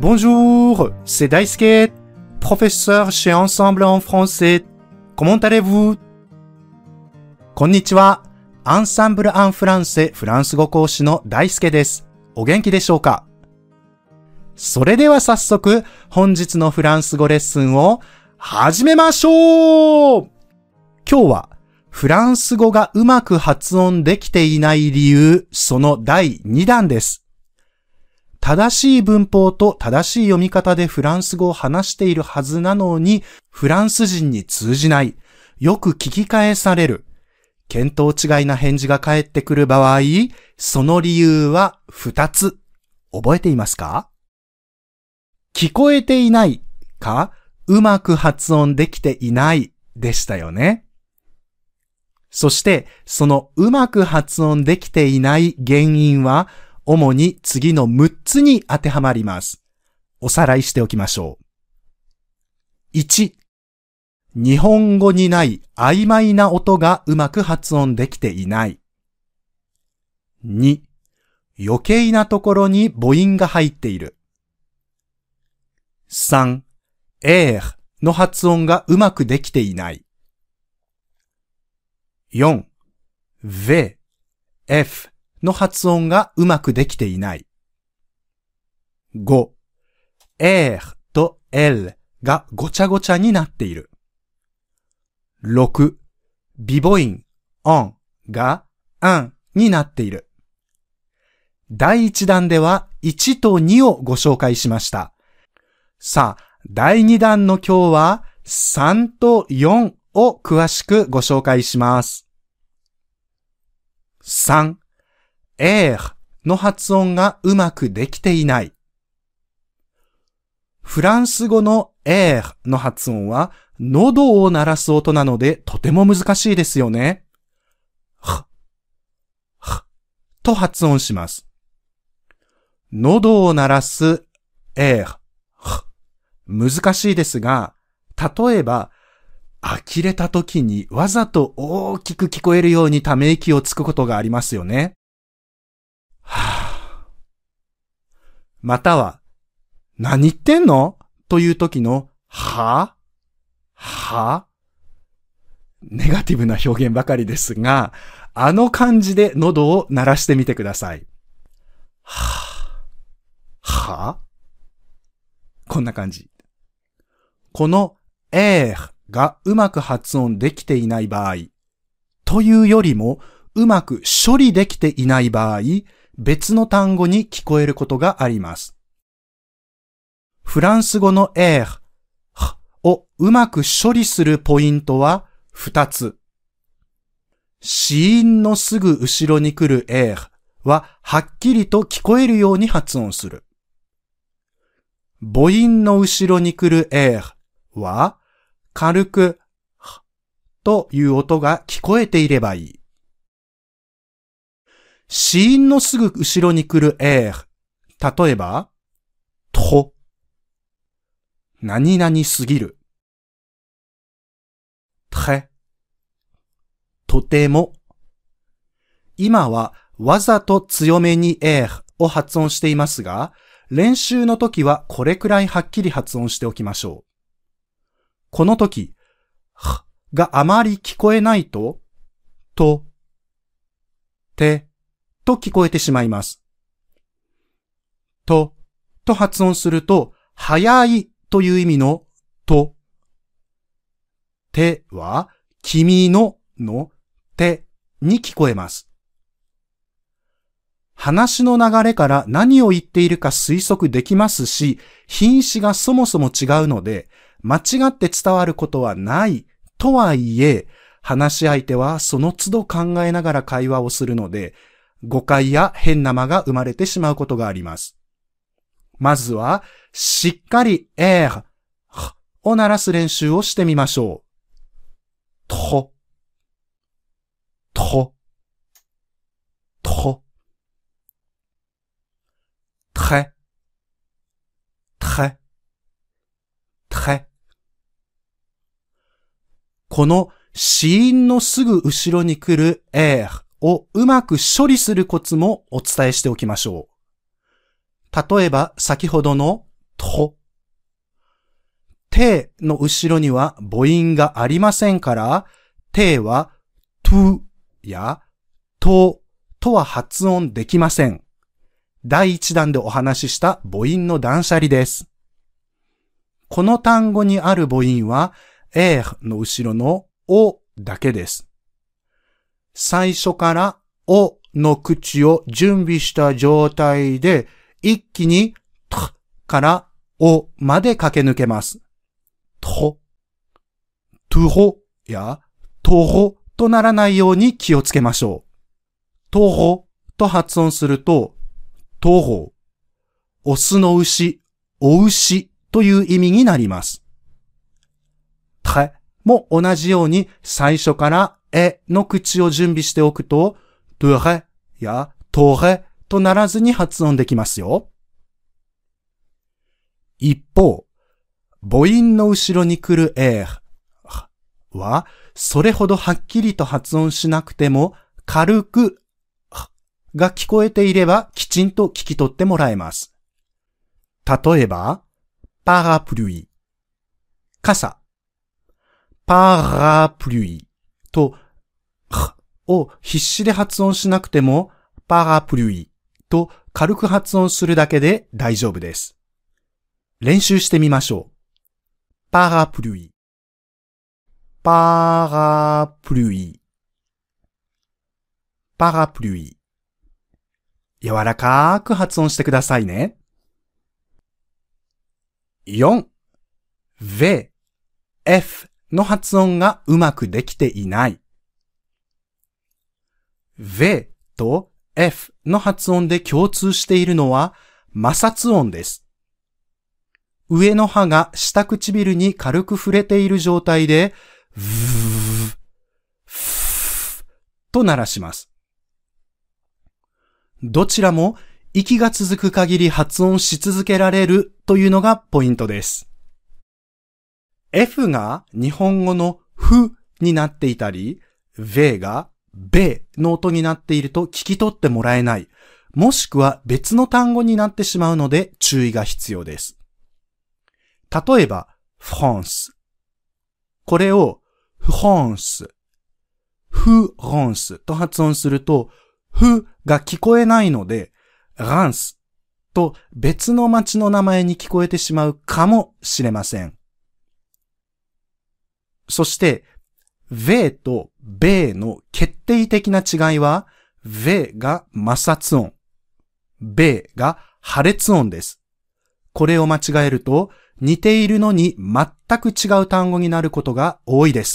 Bonjour, c'est Daisuke, professeur chez Ensemble en français. Comment allez-vous? こんにちは。アンサンブル・アン・フランセフランス語講師の大輔です。お元気でしょうか？それでは早速、本日のフランス語レッスンを始めましょう！今日は、フランス語がうまく発音できていない理由、その第2弾です。正しい文法と正しい読み方でフランス語を話しているはずなのに、フランス人に通じない、よく聞き返される、見当違いな返事が返ってくる場合、その理由は2つ。覚えていますか？聞こえていないか、うまく発音できていないでしたよね。そして、そのうまく発音できていない原因は、主に次の6つに当てはまります。おさらいしておきましょう。1、日本語にない曖昧な音がうまく発音できていない。2、余計なところに母音が入っている。3、の発音がうまくできていない。4、Fの発音がうまくできていない。5、と L がごちゃごちゃになっている。6、微母音、が、になっている。第1弾では1と2をご紹介しました。さあ、第2弾の今日は3と4を詳しくご紹介します。3、の発音がうまくできていない。フランス語のの発音は喉を鳴らす音なのでとても難しいですよね。と発音します。喉を鳴らす難しいですが、例えば呆れた時にわざと大きく聞こえるようにため息をつくことがありますよね。または、何言ってんの？という時のネガティブな表現ばかりですが、あの感じで喉を鳴らしてみてください。こんな感じ。このがうまく発音できていない場合、というよりもうまく処理できていない場合、別の単語に聞こえることがあります。フランス語のをうまく処理するポイントは2つ。子音のすぐ後ろに来るははっきりと聞こえるように発音する。母音の後ろに来るは軽くという音が聞こえていればいい。子音のすぐ後ろに来る例えば、何々すぎる。とても。今はわざと強めにを発音していますが、練習の時はこれくらいはっきり発音しておきましょう。この時、があまり聞こえないと、と聞こえてしまいます。と発音すると、早いという意味のては、君のてに聞こえます。話の流れから何を言っているか推測できますし、品詞がそもそも違うので、間違って伝わることはないとはいえ、話し相手はその都度考えながら会話をするので、誤解や変な間が生まれてしまうことがあります。まずは、しっかりを鳴らす練習をしてみましょう。この子音のすぐ後ろに来るをうまく処理するコツもお伝えしておきましょう。例えば先ほどのと。ての後ろには母音がありませんから、てはとやととは発音できません。第1弾でお話しした母音の断捨離です。この単語にある母音は、の後ろのおだけです。最初からおの口を準備した状態で、一気にとからおまで駆け抜けます。と、とろやとろとならないように気をつけましょう。とろと発音すると、とろ、オスの牛、お牛という意味になります。ても同じように最初からの口を準備しておくと、とれやとれとならずに発音できますよ。一方、母音の後ろに来るは、それほどはっきりと発音しなくても、軽くが聞こえていればきちんと聞き取ってもらえます。例えば、パラプルイ、傘、パラプルイと、を必死で発音しなくても、パラプルイと軽く発音するだけで大丈夫です。練習してみましょう。パラプルイ、パラプルイ、パラプルイ。柔らかく発音してくださいね。4. V, F の発音がうまくできていない。V と F の発音で共通しているのは摩擦音です。上の歯が下唇に軽く触れている状態で、v, f と鳴らします。どちらも息が続く限り発音し続けられるというのがポイントです。F が日本語のふになっていたり、V がべの音になっていると聞き取ってもらえない、もしくは別の単語になってしまうので注意が必要です。例えば、フランス。これをフランス、フランスと発音すると、ふが聞こえないので、ランスと別の町の名前に聞こえてしまうかもしれません。そして、V とベの決定的な違いは、V が摩擦音、ベが破裂音です。これを間違えると、似ているのに全く違う単語になることが多いです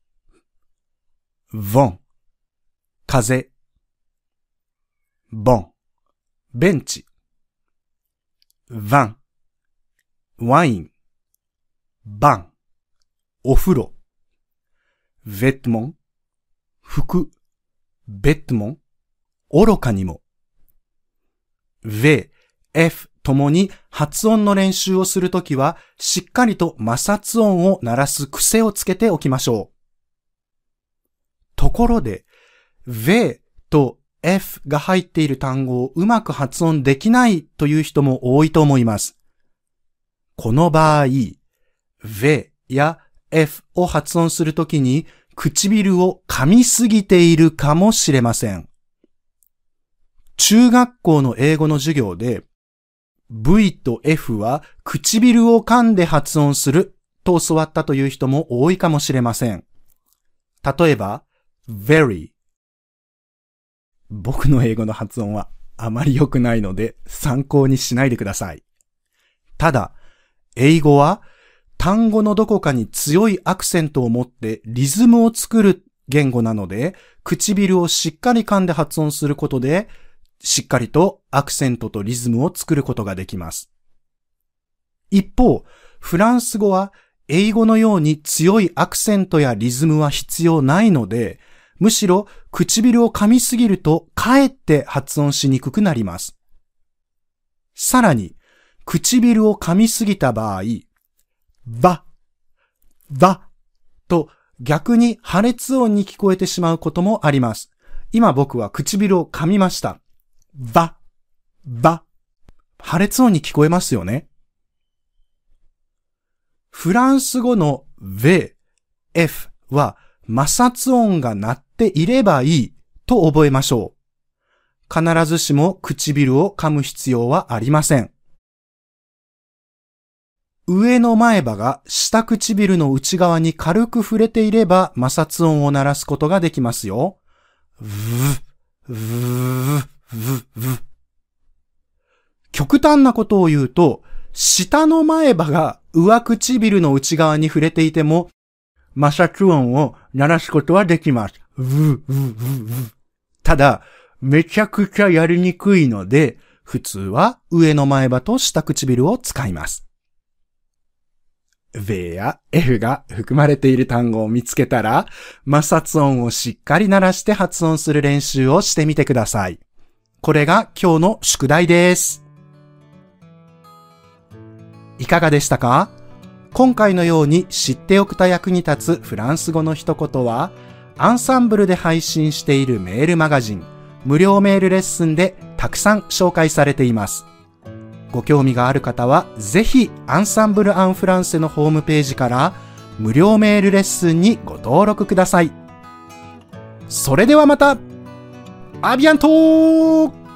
。vent、風、bon、ベンチ、vin、ワイン、bain、お風呂、vêtement、服、vêtement、愚かにも。V、F ともに発音の練習をするときは、しっかりと摩擦音を鳴らす癖をつけておきましょう。ところで、V と F が入っている単語をうまく発音できないという人も多いと思います。この場合、V や F を発音するときに唇を噛みすぎているかもしれません。中学校の英語の授業で V と F は唇を噛んで発音すると教わったという人も多いかもしれません。例えば、very。僕の英語の発音はあまり良くないので参考にしないでください。ただ、英語は単語のどこかに強いアクセントを持ってリズムを作る言語なので、唇をしっかり噛んで発音することで、しっかりとアクセントとリズムを作ることができます。一方、フランス語は英語のように強いアクセントやリズムは必要ないので、むしろ唇を噛みすぎるとかえって発音しにくくなります。さらに、唇を噛みすぎた場合、ばと逆に破裂音に聞こえてしまうこともあります。今僕は唇を噛みました。ば。破裂音に聞こえますよね。 フランス語の V、F は摩擦音が鳴っていればいいと覚えましょう。必ずしも唇を噛む必要はありません。上の前歯が下唇の内側に軽く触れていれば摩擦音を鳴らすことができますよ。極端なことを言うと、下の前歯が上唇の内側に触れていても、摩擦音を鳴らすことはできます。ただ、めちゃくちゃやりにくいので、普通は上の前歯と下唇を使います。V や F が含まれている単語を見つけたら、摩擦音をしっかり鳴らして発音する練習をしてみてください。これが今日の宿題です。いかがでしたか？今回のように知っておくと役に立つフランス語の一言は、アンサンブルで配信しているメールマガジン、無料メールレッスンでたくさん紹介されています。ご興味がある方は、ぜひアンサンブル・アン・フランセのホームページから無料メールレッスンにご登録ください。それではまた！アビアントー！